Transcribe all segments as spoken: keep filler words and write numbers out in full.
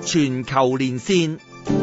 全球連線，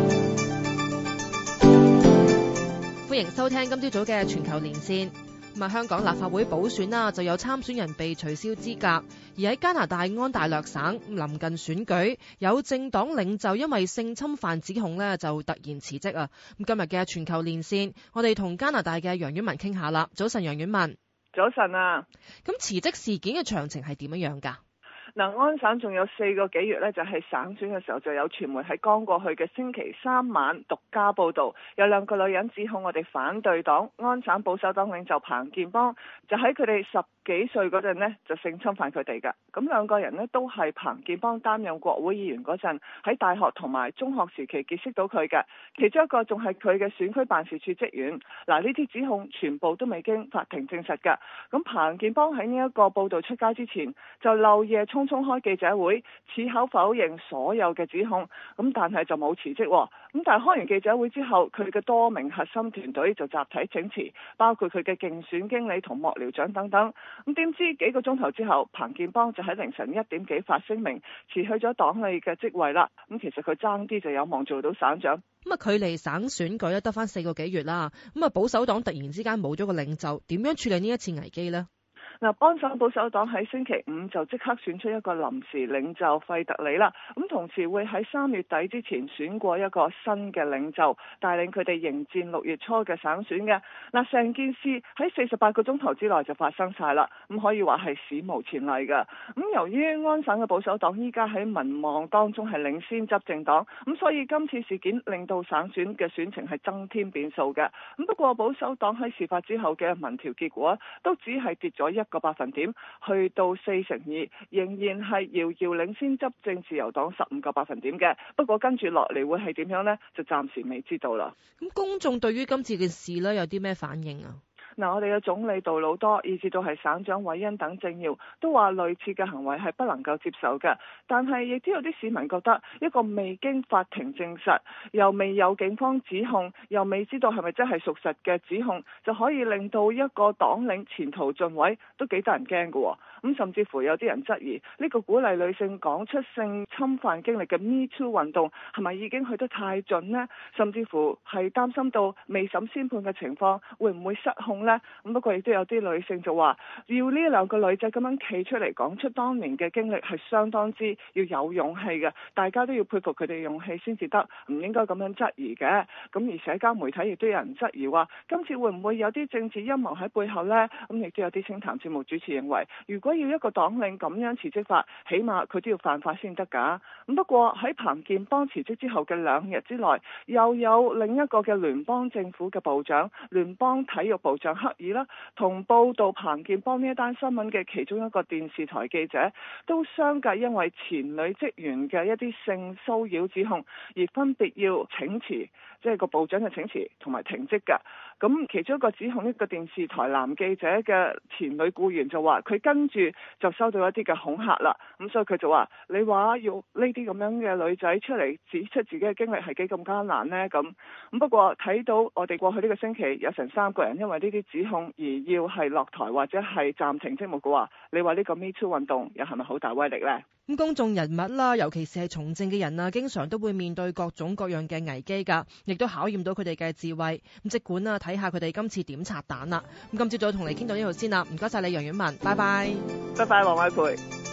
歡迎收聽今朝早嘅全球連線。咁啊，香港立法會補選啦，就有參選人被取消資格，而喺加拿大安大略省臨近選舉，有政黨領袖因為性侵犯指控呢，就突然辭職啊。咁今日嘅全球連線，我哋同加拿大嘅楊婉文傾下啦。早晨，楊婉文。 早晨啊。 咁辭職事件嘅詳情係點樣樣㗎？ 嗱，安省仲有四個幾月呢，就係省選嘅時候，就有傳媒喺剛過去嘅星期三晚獨家報導，有兩個女人指控我哋反對黨安省保守黨領袖彭建邦，就喺佢哋十幾歲嗰陣呢，就性侵犯佢哋㗎。咁兩個人呢，都係彭建邦擔任國會議員嗰陣喺大學同埋中學時期結識到佢嘅，其中一個仲係佢嘅選區辦事處職員。嗱，呢啲指控全部都未經法庭證實㗎。咁彭建邦喺呢一個報導出街之前，就漏夜匆匆開記者會，矢口否認所有嘅指控，咁但係就冇辭職。咁但係開完記者會之後，佢嘅多名核心團隊就集體請辭，包括佢嘅競選經理同幕僚長等等。咁點知幾個鐘頭之後，彭建邦就喺凌晨一點幾發聲明辭去咗黨裏嘅職位啦。咁其實佢爭啲就有望做到省長。 咁啊，距離省選舉咧得翻四個幾月啦。咁啊，保守黨突然之間冇咗個領袖，點樣處理呢一次危機呢？ 嗱，安省保守黨喺星期五就即刻選出一個臨時領袖費特里啦，咁同時會喺三月底之前選過一個新嘅領袖，帶領佢哋迎戰六月初嘅省選嘅。嗱，成件事喺四十八個鐘頭之內就發生晒啦，咁可以話係史無前例㗎。咁由於安省嘅保守黨依家喺民望當中係領先執政黨，咁所以今次事件令到省選嘅選情係增添變數嘅。咁不過保守黨喺事發之後嘅民調結果都只係跌咗一個百分點，去到四成二，仍然係遙遙領先執政自由黨十五個百分點嘅。不過跟住落嚟會係點樣呢？就暫時未知道啦。 咁公眾對於今次嘅事呢，有啲咩反應啊？ 嗱，我哋嘅總理杜魯多，以至到係省長韋恩等政要，都話類似嘅行為係不能夠接受嘅。但係亦都有啲市民覺得，一個未經法庭證實，又未有警方指控，又未知道係咪真係屬實嘅指控，就可以令到一個黨領前途盡毀，都幾得人驚嘅。咁甚至乎有啲人質疑呢個鼓勵女性講出性侵犯經歷嘅 Me Too 運動係咪已經去得太盡呢？甚至乎係擔心到未審先判嘅情況會唔會失控呢？咁不過亦都有啲女性就話，要呢兩個女仔咁樣企出嚟講出當年嘅經歷係相當之要有勇氣嘅，大家都要佩服佢哋勇氣先至得，唔應該咁樣質疑嘅。咁而社交媒體亦都有人質疑話，今次會唔會有啲政治陰謀喺背後呢？咁亦都有啲清談節目主持認為，如果要一個黨領咁樣辭職法，起碼佢都要犯法先得㗎。咁不過喺彭建邦辭職之後嘅兩日之內，又有另一個嘅聯邦政府嘅部長，聯邦體育部長克爾啦，同報道彭建邦呢一單新聞嘅其中一個電視台記者，都相繼因為前女職員嘅一啲性騷擾指控而分別要請辭，即係個部長嘅請辭同埋停職㗎。咁其中一個指控，一個電視台男記者嘅前女僱員就話，佢跟住就收到一啲嘅恐嚇啦。咁所以佢就話：你話要呢啲咁樣嘅女仔出嚟指出自己嘅經歷係幾咁艱難呢？咁咁不過睇到我哋過去呢個星期有成三個人因為呢啲指控而要係落台或者係暫停職務嘅話，你話呢個 Me Too 運動又係咪好大威力呢？ 咁公眾人物啦，尤其是係從政嘅人啊，經常都會面對各種各樣嘅危機㗎，亦都考驗到佢哋嘅智慧。咁即管啊，睇下佢哋今次點拆彈啦。咁今朝早同你傾到呢度先啦，唔該晒你楊婉文，拜拜。 拜拜，黃偉培。